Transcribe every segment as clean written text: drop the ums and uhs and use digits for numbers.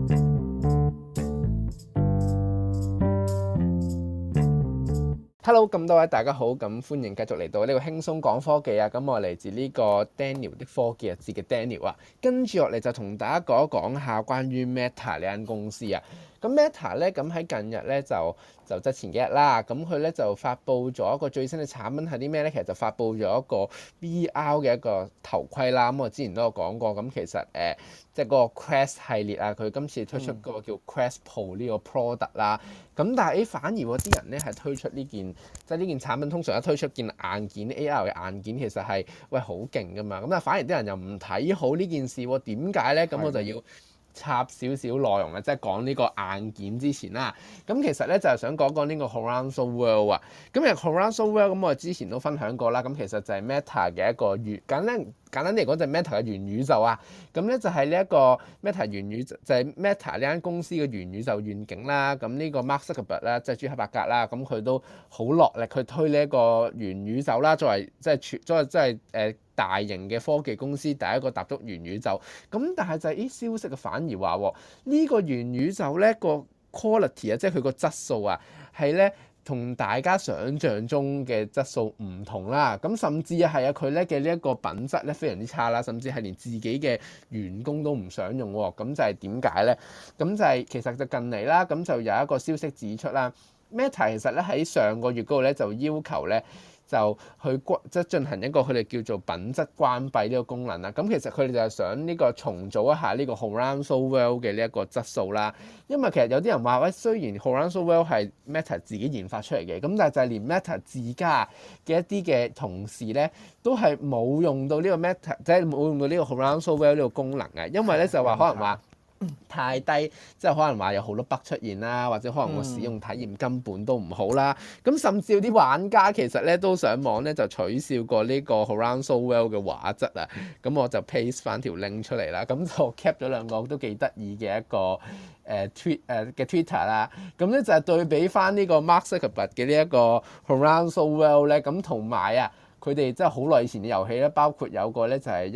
Hello，咁多位大家好，咁歡迎繼續嚟到呢個輕鬆講科技啊！咁我嚟自呢個 Daniel 的科技日誌嘅 Daniel 啊，跟住落嚟就同大家講一講下關於 Meta 呢間公司啊。咁 Meta 咧，咁喺近日咧就即係前幾日啦，咁佢咧就發布咗一個最新嘅產品係啲咩咧？其實就發布咗一個 VR 嘅一個頭盔啦。咁我之前都有講過，咁其實即係嗰個 Quest 系列啊，佢今次推出嗰個叫 Quest Pro 呢個 product 啦。咁但係反而喎啲人咧係推出呢件，即係呢件產品通常一推出件硬件 AR 嘅硬件，其實係好勁噶嘛。咁但係反而啲人又唔睇好呢件事喎，點解咧？咁我就要插少少內容啊，即係講呢個硬件之前啦。咁其實咧就係想講講呢個 Horizon World 啊。咁其實 Horizon World 咁我之前都分享過啦。咁其實就係 Meta 嘅一個簡單啲嚟講就係 Meta 嘅元宇宙啊。咁咧就係呢一個 Meta 元宇宙，就係 Meta 呢間公司嘅元宇宙願景啦。咁呢個 Mark Zuckerberg 啦，即係朱克伯格啦，咁佢都好落力去推呢一個元宇宙啦，作為即係大型嘅科技公司第一個踏足元宇宙。咁但係就係消息嘅反而話呢個元宇宙咧個 quality 啊，即係佢個質素啊，係咧同大家想象中嘅質素唔同啦。咁甚至係啊佢咧嘅呢一個品質咧非常之差啦，甚至係連自己嘅員工都唔想用喎。咁就係點解咧？咁就係其實就近嚟啦，咁就有一個消息指出啦，Meta 其實咧喺上個月嗰度咧就要求咧，就去即係進行一個佢哋叫做品質關閉呢個功能啦。咁其實佢哋就係想呢個重組一下呢個 Horizon World 嘅呢一個質素啦。因為其實有啲人話喂，雖然 Horizon World 係 Meta 自己研發出嚟嘅，咁但係就係連 Meta 自家嘅一啲嘅同事咧，都係冇用到呢個 Meta，即係冇用到呢個 Horizon World 呢個功能嘅。因為咧就話可能話太低，即係可能話有好多 bug 出現啦，或者可能個使用體驗根本都唔好啦。咁甚至有啲玩家其實咧都上網咧就取笑過呢個 Horizon World 嘅畫質啊。咁我就 paste 翻條 link 出嚟啦。咁就 cap 咗兩個都幾得意嘅一個嘅 Twitter 啦。咁咧就係對比翻呢個 Mark Zuckerberg 嘅呢一個 Horizon World 咧，咁同埋啊佢哋真係好耐以前嘅遊戲咧，包括有個咧就係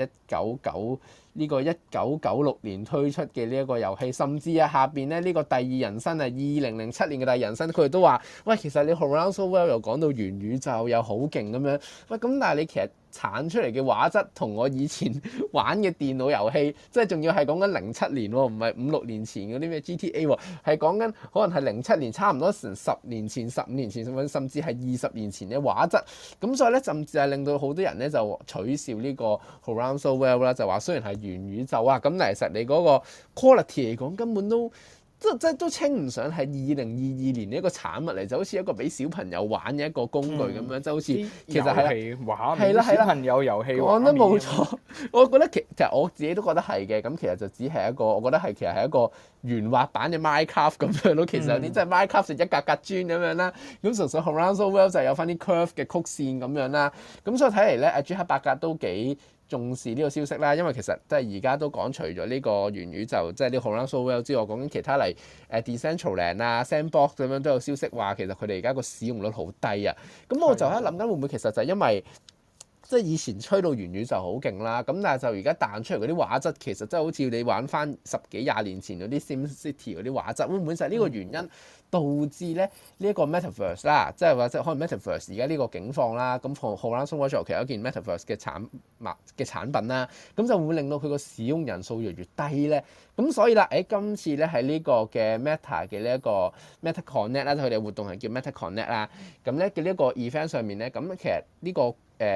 1996年推出嘅呢一個遊戲，甚至啊下邊咧呢個第二人生啊2007年嘅第二人生，佢哋都話喂，其實你 Horizon World 又講到元宇宙又好勁咁樣，喂咁但係你其實產出嚟嘅畫質同我以前玩嘅電腦遊戲，即係仲要係講緊07年喎，唔係5-6年前嗰啲咩 GTA 喎，係講緊可能係07年，差唔多成10年前、15年前，甚至係20年前嘅畫質。咁所以咧，甚至係令到好多人咧就取笑呢個 Horizon World 啦，就話雖然係元宇宙啊，咁但係其實你嗰個 quality 嚟講根本都即都稱唔上係2022年嘅一個產物嚟，就好似一個俾小朋友玩嘅一個工具咁樣，即好似其實係啦，小朋友遊戲講得冇錯。我覺得其實我自己都覺得係嘅。咁其實就只係一個，我覺得係其實係一個圓滑版嘅 Minecraft 咁樣咯。其實有啲即係 Minecraft 係一格格磚咁樣啦，咁純粹 Horizon World 就有翻啲 curve 嘅曲線咁樣啦。咁所以睇嚟咧，阿朱克伯格都幾重視呢個消息啦，因為其實即係而家都講除咗呢個元宇宙，即係呢個 Horizon World 之外，講緊其他嚟Decentraland 啊、Sandbox 咁樣都有消息話，其實佢哋而家個使用率好低啊。咁我就喺度諗緊會唔會其實就係因為即係以前吹到元宇宙好勁啦，咁但係就而家彈出嚟嗰啲畫質，其實真係好似你玩翻10幾20年前嗰啲 SimCity 嗰啲畫質，會唔會就係呢個原因導致咧呢一個 Metaverse 啦，即係或者可能 Metaverse 而家呢個境況啦，咁 Horizon World 其實有一件 Metaverse 嘅產品啦，咁就會令到佢個使用人數越嚟越低咧。咁所以啦，今次咧喺呢個嘅 Meta 嘅呢一個 Meta Connect 啦，佢哋活動係叫 Meta Connect 啦，咁咧嘅呢一個 event 上面咧，咁其實呢個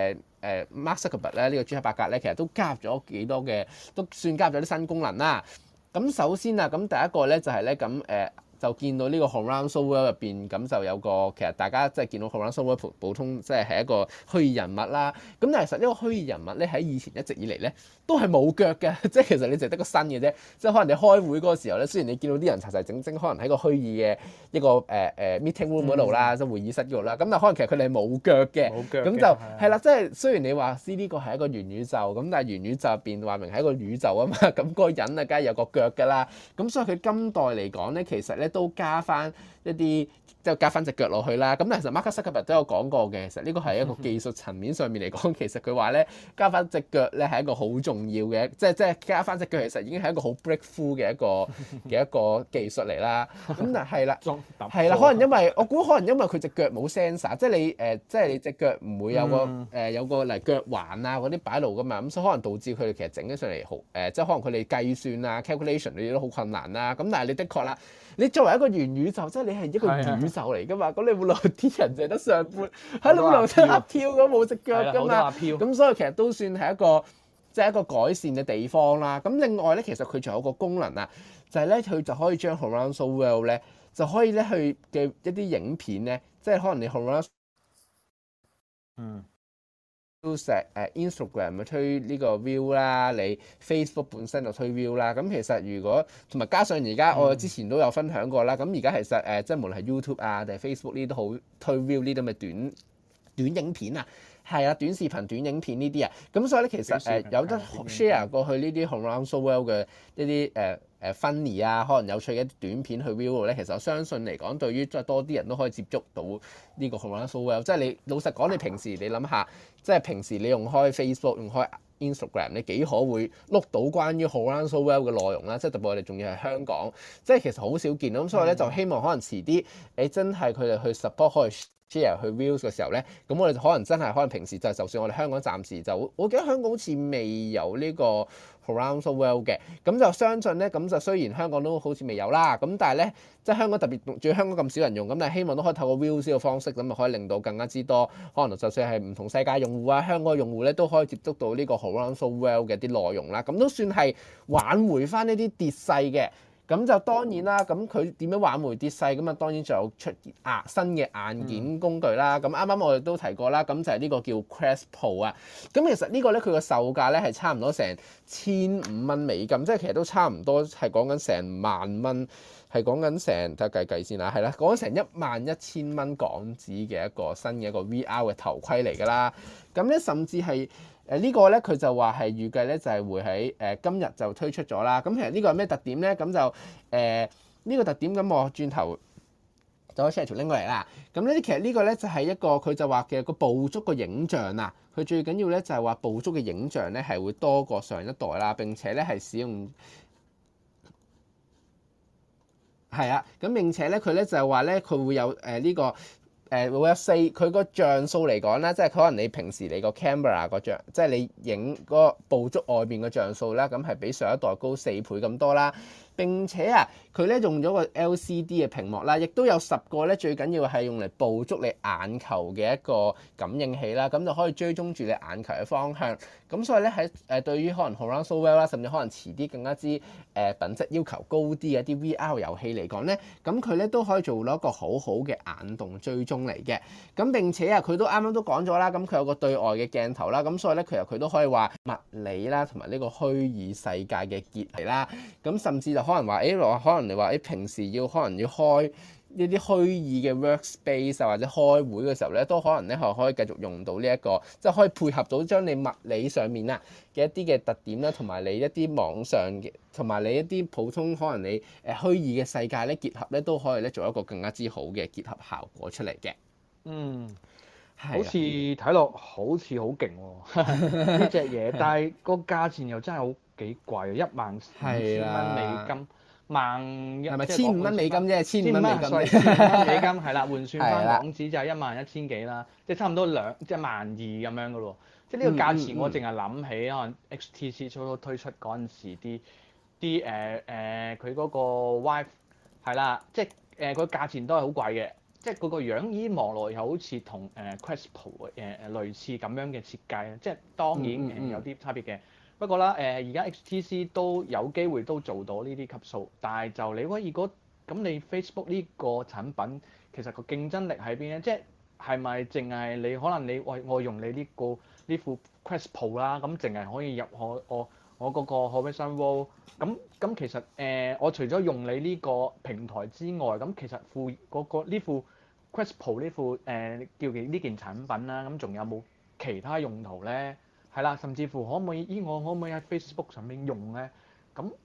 Mark Zuckerberg 咧，呢個朱克伯格咧，其實都加入咗幾多嘅，都算加入咗啲新功能啦。咁首先啊，咁第一個咧就係咧咁就見到呢個 Horizon World 入邊，咁就有個其實大家即係見到 Horizon World 普通即係一個虛擬人物啦。咁但係其實呢個虛擬人物咧喺以前一直以嚟咧都係冇腳嘅，即係其實你淨係得個身嘅啫。即係可能你開會嗰個時候咧，雖然你見到啲人齊齊整整，可能喺個虛擬嘅一個meeting room 嗰度啦，即係會議室嗰度啦。咁但係可能其實佢哋係冇腳嘅，咁就係啦。即係雖然你話呢個係一個元宇宙，咁但係元宇宙入邊話明係一個宇宙啊嘛，咁嗰個人啊梗係有個腳㗎啦。咁所以佢今代嚟講咧，其實咧咧都加翻一啲即係加翻隻腳落去啦。咁其實 Mark Zuckerberg 都有講過嘅，其實呢個係一個技術層面上面嚟講，其實佢話咧加翻隻腳咧係一個好重要嘅，即係加翻隻腳其實已經係一個好 breakthrough 嘅一個技術嚟啦。咁但係啦，係啦，可能因為我估可能因為佢隻腳冇 sensor，即係你即係你隻腳唔會有個有個嚟腳環啊嗰啲擺路噶嘛，咁所以可能導致佢哋其實整起上嚟好即係可能佢哋計算啊 calculation 呢啲都好困難啦。咁但係你的確啦，你作為一個元宇宙，即係你係一個宇宙嚟噶嘛，咁你冇理由啲人淨係得上半，喺你冇理由得鴨跳咁冇隻腳噶嘛，咁所以其實都算係一個即係一個改善嘅地方啦。咁另外咧，其實佢仲有個功能啊，就係咧佢就可以將 Horizon World 咧就可以咧去嘅一啲影片咧，即係可能你 Horizon 都成Instagram 推呢個 view 啦，你 Facebook 本身就推 view 啦。咁其實如果同埋加上而家我之前都有分享過啦，咁而家其實即係無論係 YouTube 啊定係 Facebook 呢啲都好推 view 呢啲咁嘅短影片啊，係啊，短視頻、短影片呢啲啊，咁所以咧其實有得 share 過去呢啲 Horizon World 嘅一啲funny 啊，可能有趣嘅一啲短片去 view 咧，其實我相信嚟講，對於即係多啲人都可以接觸到呢個 Horizon World。即係你老實講，你平時你諗下，即係平時你用開 Facebook、用開 Instagram，你幾可會碌到關於 Horizon World 嘅內容啦？即係特別我哋仲要係香港，即係其實好少見。咁所以咧就希望可能遲啲你真係佢哋去 support 可以 share 去 views 嘅時候咧，咁我哋就可能真係可能平時就算我哋香港暫時就，我記得香港好似未有呢個 Horizon World 嘅，咁就相信咧，咁就雖然香港都好似未有啦，咁但係咧，即係香港特別仲要香港咁少人用，咁但係希望都可以透過 views 呢個方式，咁就可以令到更加之多，可能就算係唔同世界用戶啊、香港用戶咧，都可以接觸到呢個 Horizon World 嘅啲內容啦，咁都算係挽回翻呢啲跌勢嘅。咁就當然啦，咁佢點樣挽回跌勢？咁啊當然就有出新嘅硬件工具啦。咁啱啱我哋都提過啦，咁就係呢個叫 Quest Pro 啊。咁其實呢個咧佢個售價咧係差唔多成$1500，即係其實都差唔多係講緊成萬蚊，係講緊成睇下計先啦，係啦，講緊成11000蚊港紙嘅一個新嘅一個 VR 嘅頭盔嚟㗎啦。咁咧甚至係呢個咧佢就話係預計咧就係會喺今日就推出咗啦。咁其實呢個係咩特點咧？咁就呢個特點咁我轉頭就可以 share 條 link 過嚟啦。咁呢啲其實呢個咧就係一個佢就話嘅個捕捉個影像啊。佢最緊要咧就係話捕捉嘅影像咧係會多過上一代啦，並且咧係使用係啊。咁並且咧佢咧就係話咧佢會有呢個。會有佢個像素嚟講啦，即係可能你平時你個 camera 個像，即係你影嗰個捕捉外邊嘅像素啦，咁係比上一代高4倍咁多啦。並且啊，佢咧用咗個 LCD 嘅屏幕啦，亦都有10個咧，最緊要係用嚟捕捉你眼球嘅一個感應器啦，咁就可以追蹤住你眼球嘅方向。咁所以咧喺對於可能 Horizon World 啦，甚至可能遲啲更加之品質要求高啲嘅一啲 VR 遊戲嚟講咧，咁佢咧都可以做到一個好好嘅眼動追蹤嚟嘅。咁並且啊，佢都啱啱都講咗啦，咁佢有個對外嘅鏡頭啦，咁所以咧其實佢都可以話物理啦同埋呢個虛擬世界嘅結合啦。咁甚至就可能話可能你話平時可能要開一啲虛擬嘅 workspace 啊，或者開會嘅時候咧，都可能咧係可以繼續用到呢一個，即係可以配合到將你物理上面啊嘅一啲嘅特點啦，同埋你一啲網上嘅，同埋你一啲普通可能你虛擬嘅世界咧結合咧，都可以咧做一個更加之好嘅結合效果出嚟嘅。 好似睇落好似好勁喎呢隻嘢，但係個價錢又真係好幾貴，15000蚊美金， 係咪$1500啫 ？$1500係啦，換算翻港紙就係11000幾啦，即係差唔多12000咁樣噶咯。即係呢個價錢，我淨係諗起可能 HTC 初初推出嗰陣時佢嗰個 Vive 係啦，即係個價錢都係好貴嘅。即係嗰個樣依望落又好似同Quest Pro 類似咁樣嘅設計，即係當然有啲差別嘅。不過啦而家 HTC 都有機會都做到呢啲級數，但係就你可以咁你 Facebook 呢個產品其實個競爭力喺邊咧？即係咪淨係你可能你我用你呢副 Quest Pro 啦，咁淨係可以入我嗰個 Horizon World 咁其實我除咗用你呢個平台之外，咁其實呢副 Quest Pro 呢副叫呢件產品啦，咁仲有冇其他用途咧？係啦，甚至乎我可唔可以喺 Facebook 上面用咧？咁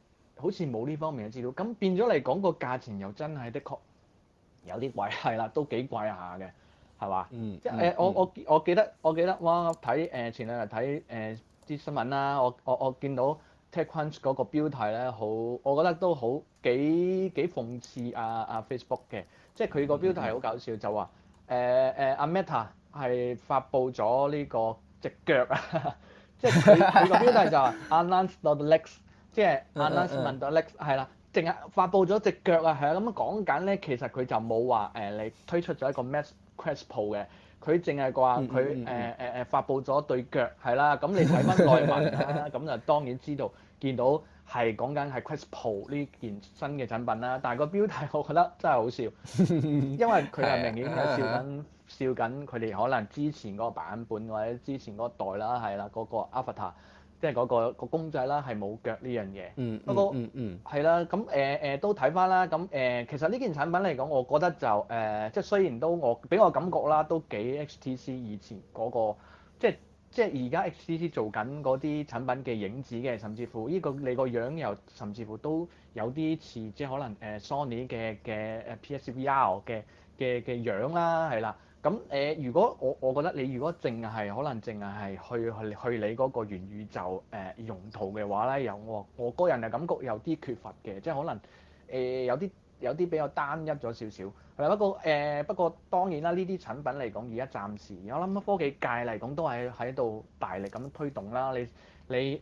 好似冇呢方面嘅資料，咁變咗嚟講個價錢又真係的確有啲貴，係啦，都幾貴下嘅，係嘛？即係我記得哇，睇前兩日睇啲新聞啦，我見到 TechCrunch 嗰個標題咧，我覺得都好幾諷刺Facebook 嘅，即係佢個標題好搞笑，就話阿 Meta 係發布咗呢個隻腳啊，即係佢個標題就話 Announce the legs， 即係 announcement the legs 係啦。淨係發布咗隻腳啊，係啊，咁樣講緊咧，其實佢就冇話你推出咗一個 Quest Pro 嘅，佢淨係話佢發布咗對腳係啦，咁你睇翻內文啦，咁就當然見到係講緊係 Quest Pro 呢件新嘅產品啦，但係個標題我覺得真係好笑，因為佢係明顯係笑緊佢哋可能之前嗰個版本或者之前嗰代啦，係啦嗰個 Avatar。即係嗰個公仔啦，係冇腳呢樣嘢。不過係啦，咁都睇翻啦。咁其實呢件產品嚟講，我覺得就即係雖然都俾我感覺啦，都幾 HTC 以前嗰個，即係而家 HTC 做緊嗰啲產品嘅影子嘅，甚至乎呢個你個樣又甚至乎都有啲似即係可能Sony 嘅PSVR 嘅樣啦，係啦。咁如果我覺得你如果可能淨係去你嗰個元宇宙用途嘅話咧，我個人嘅感覺有啲缺乏嘅，即係可能有啲比較單一咗少少。係啦，不過當然啦，呢啲產品嚟講，而家暫時我諗科技界嚟講都係喺度大力咁推動啦。你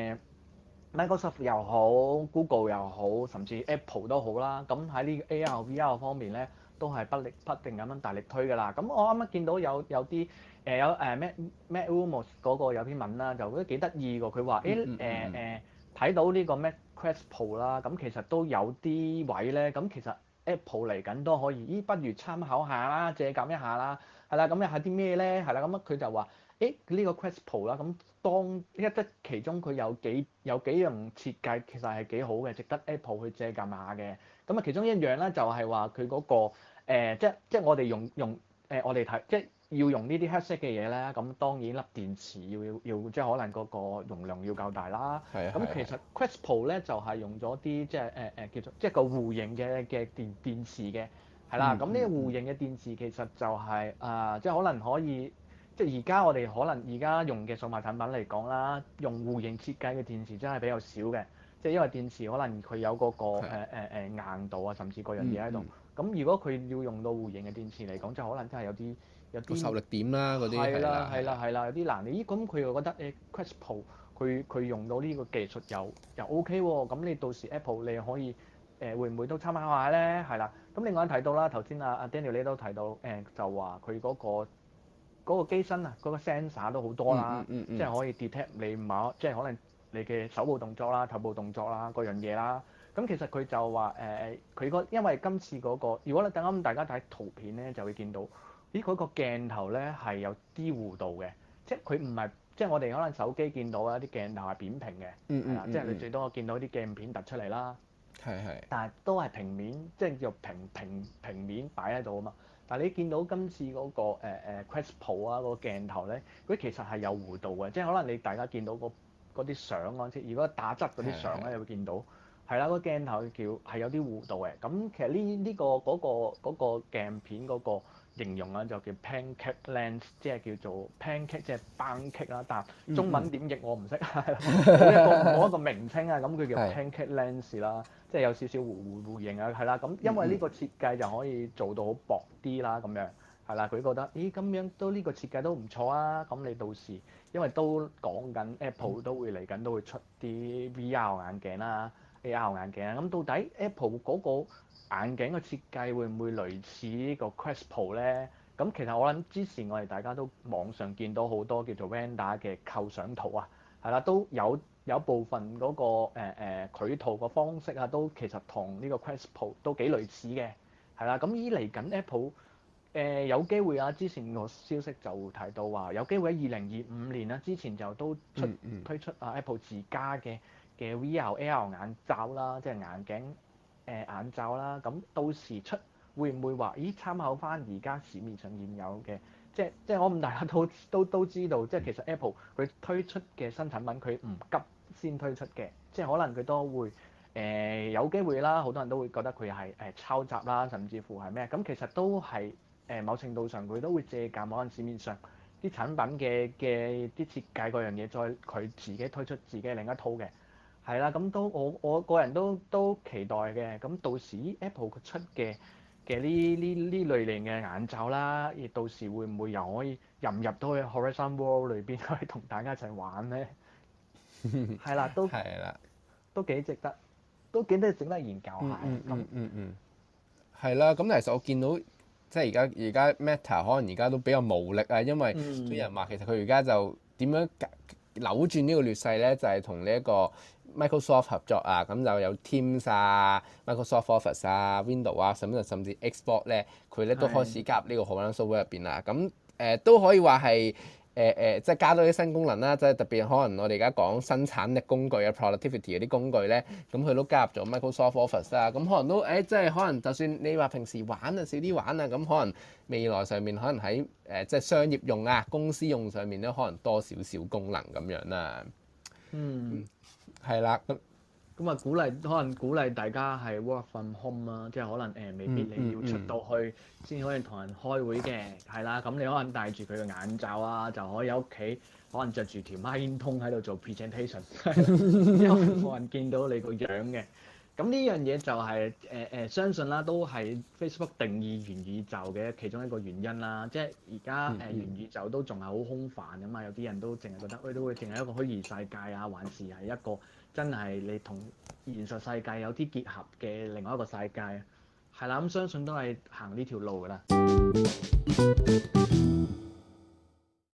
Microsoft 又好，Google 又好，甚至 Apple 都好啦。咁喺呢個 AR/VR 方面咧，都係不定咁樣大力推㗎啦。咁我啱啱見到有啲Matt Rumors 嗰個有篇文啦，就覺得幾得意喎。佢話睇到呢個 Mac Quest Pro 啦，咁其實都有啲位咧，咁其實 Apple 嚟緊都可以，不如參考下啦，借鑑一下啦，係啦，咁又係啲咩咧？係啦，咁佢就話呢個 Quest Pro 啦，咁其中佢有幾樣設計其實係幾好嘅，值得 Apple 去借鑑下嘅。咁啊，其中一樣咧就係話佢嗰個即係我哋我哋睇即係要用呢啲 headset 嘅嘢咧，咁當然粒電池要即係可能嗰個容量要夠大啦。咁其實 Quest Pro 咧就係用咗啲即係叫做即係個弧形嘅電池嘅，係啦。咁呢個弧形嘅電池其實就係即係可能可以。即係而家我哋可能而家用嘅數碼產品嚟講啦，用弧形設計嘅電池真係比較少嘅，即係因為電池可能佢有嗰個硬度啊，甚至嗰樣嘢喺度。咁如果佢要用到弧形嘅電池嚟講，就可能真係有啲受力點啦嗰啲係啦，有啲難。咦？咁佢又覺得Quest Pro 佢用到呢個技術又 OK 喎，咁你到時 Apple 你可以會唔會都參考下咧？係啦。咁另外提到啦，頭先阿 Daniel 你都提到就話佢嗰個機身啊，嗰個 sensor 都好多啦，即係可以 detect 你即係可能你嘅手部動作啦、頭部動作啦嗰樣嘢啦。咁其實佢就話因為今次嗰個，如果你等啱大家睇圖片咧，就會見到咦佢個鏡頭咧係有啲弧度嘅，即係佢唔係即係我哋可能手機見到啊啲鏡頭係扁平嘅，係啦，即係你最多見到啲鏡片突出嚟啦，但係都係平面，即係叫平面擺喺度啊嘛。但係你見到今次嗰個Quest Pro 啊個鏡頭咧，佢其實係有弧度嘅，即係可能你大家見到嗰啲相嗰陣時，如果打側嗰啲相咧，你會見到係啦，個鏡頭係有啲弧度嘅。咁其實呢個嗰個鏡片嗰個形容啊，就叫 pancake lens， 即係叫做 pancake 即係班戟啦，但係中文點譯我唔識，冇一個名稱啊，咁佢叫 pancake lens 啦。即係有少少弧形啊，係啦，咁因為呢個設計就可以做到好薄啲啦，咁樣係啦，佢覺得咦咁樣都呢個設計都唔錯啊，咁你到時因為都講緊 Apple 都會嚟緊都會出啲 VR 眼鏡啦、AR 眼鏡啊，咁到底 Apple 嗰個眼鏡嘅設計會唔會類似呢個 Quest Pro 咧？咁其實我諗之前我哋大家都網上見到好多叫做 Render 嘅構想圖啊，係啦，都有部分嗰個繪圖個方式啊，都其實同呢個 Quest Pro 都幾類似嘅，係啦。咁嚟緊 Apple 有機會啊，之前個消息就提到話有機會喺2025年啦，之前就都推出Apple 自家嘅 VR、AR 眼罩啦，即係眼鏡眼罩啦。咁到時會唔會話咦參考翻而家市面上現有嘅？即係我諗大家都知道，即係其實 Apple 佢推出嘅新產品佢唔急先推出嘅，即係可能佢都會有機會啦，好多人都會覺得佢係抄襲啦，甚至乎係咩？咁其實都係某程度上佢都會借鑑可能市面上啲產品嘅啲設計嗰樣嘢，再佢自己推出自己另一套嘅，係啦。咁都我個人都期待嘅。咁到時 Apple 佢出嘅呢類型嘅眼罩啦，亦到時會唔會又可以入到去 Horizon World 裏邊，可以同大家一齊玩咧？係啦， 係啦， 都幾值得，都幾得整得研究下。 係啦。咁其實我見到即係而家 Meta 可能而家都比較無力啊，因為啲人話其實佢而家就點樣扭轉呢個劣勢咧，就係同呢一個 Microsoft 合作啊，咁就有 Teams 啊、Microsoft Office 啊、Windows 啊，甚至 Xbox 咧，佢咧都開始加入呢個 Horizon Software 入邊啦。咁都可以話係即係加多啲新功能啦，即係特別可能我哋而家講生產力工具啊、productivity 嗰啲工具咧，咁佢都加入咗 Microsoft Office 啦。咁可能都即係可能就算你話平時玩啊少啲玩啊，咁可能未來上面可能喺即係商業用啊、公司用上面咧，可能多少少功能咁樣啦。係啦， 咁啊可能鼓勵大家係 work from home 啦，即係可能未必你要出到去先可以同人開會嘅，係啦。咁你可能戴住佢嘅眼罩啊，就可以喺屋企可能着住條孖煙通喺度做 presentation， 因為冇人見到你個樣嘅。咁呢樣嘢就係相信啦，都係 Facebook 定義元宇宙嘅其中一個原因啦。即係而家元宇宙都仲係好空泛㗎嘛，有啲人都淨係覺得都會淨係一個虛擬世界啊，還是係一個真係你同現實世界有啲結合嘅另外一個世界啊。係啦，咁相信都係行呢條路㗎啦。